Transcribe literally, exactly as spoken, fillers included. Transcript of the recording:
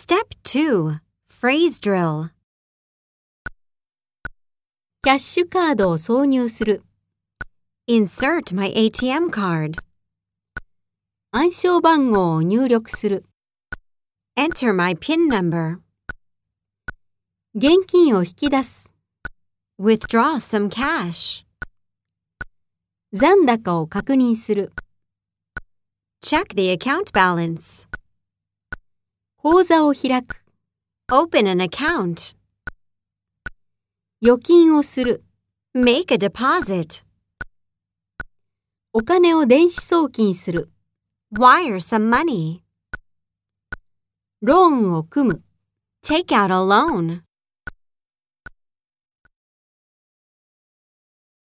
Step two. Phrase drill. キャッシュカードを挿入する。 Insert my A T M card. 暗証番号を入力する。 Enter my PIN number. 現金を引き出す。 Withdraw some cash. 残高を確認する。 Check the account balance. 口座を開く。 Open an account. 預金をする。 Make a deposit. お金を電子送金する。 Wire some money. ローンを組む。 Take out a loan.